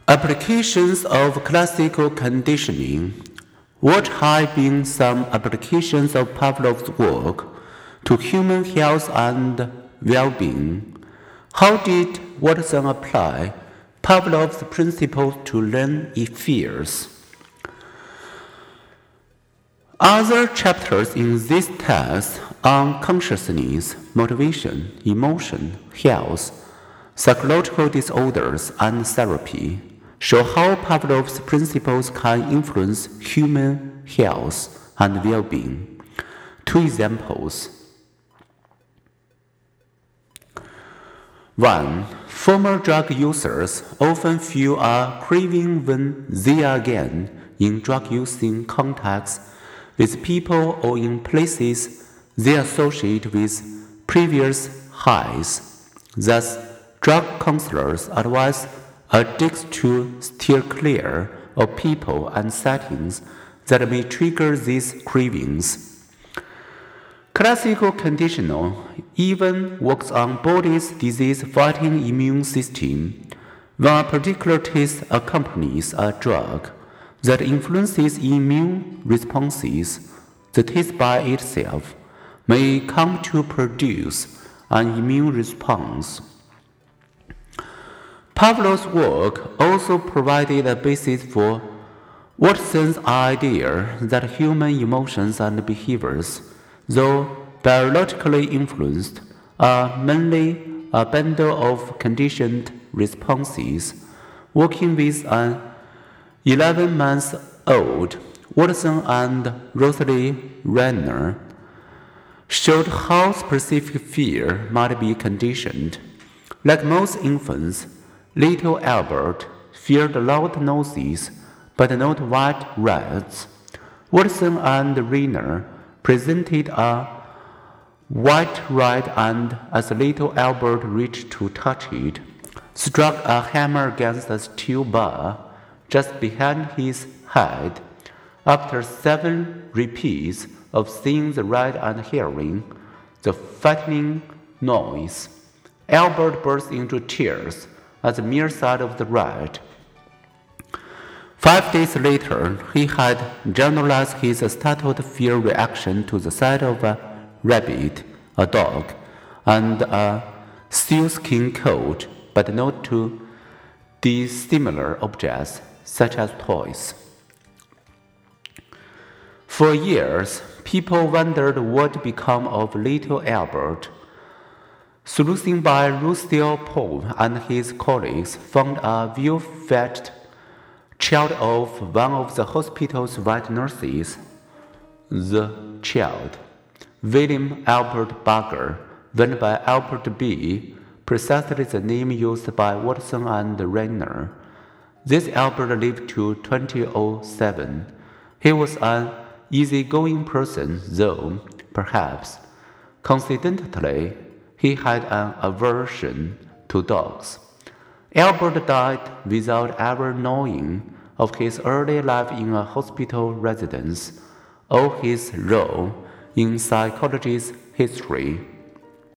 Applications of classical conditioning. What have been some applications of Pavlov's work to human health and well-being? How did Watson apply Pavlov's principles to learn fears? Other chapters in this text on consciousness, motivation, emotion, health, psychological disorders, and therapy show how Pavlov's principles can influence human health and well-being. Two examples. 1. Former drug users often feel a craving when they are again in drug-using contacts with people or in places they associate with previous highs. Thus, drug counselors advise addicts to steer clear of people and settings that may trigger these cravings. Classical conditioning even works on body's disease-fighting immune system. When a particular taste accompanies a drug that influences immune responses, the taste by itself may come to produce an immune response. Pavlov's work also provided a basis for Watson's idea that human emotions and behaviors, though biologically influenced, are mainly a bundle of conditioned responses. Working with an 11-month-old, Watson and Rosalie Renner showed how specific fear might be conditioned. Like most infants, little Albert feared loud noises, but not white rats. Watson and Renner presented a white rat and, as little Albert reached to touch it, struck a hammer against a steel bar just behind his head. After 7 repeats of seeing the rat and hearing the frightening noise, Albert burst into tears at the mere sight of the rat. 5 days later, he had generalized his startled fear reaction to the sight of a rabbit, a dog, and a sealskin coat, but not to dissimilar objects such as toys. For years, people wondered what became of little Albert. Sleuthing by Lucille Paul and his colleagues found a ill-fed child of one of the hospital's white nurses. The child, William Albert Barger, went by Albert B., precisely the name used by Watson and Renner. This Albert lived to 2007. He was an easygoing person, though, perhaps, coincidentally, he had an aversion to dogs. Albert died without ever knowing of his early life in a hospital residence or his role in psychology's history.